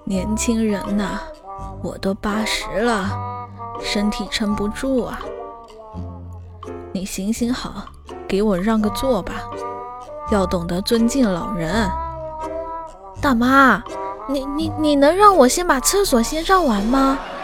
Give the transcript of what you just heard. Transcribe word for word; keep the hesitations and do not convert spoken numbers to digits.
年轻人呐，我都八十了，身体撑不住啊。你行行好，给我让个座吧，要懂得尊敬老人。 大妈，你你你能让我先把厕所先上完吗？